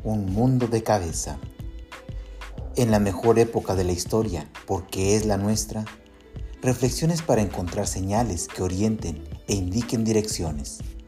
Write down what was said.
Un mundo de cabeza. En la mejor época de la historia, porque es la nuestra, reflexiones para encontrar señales que orienten e indiquen direcciones.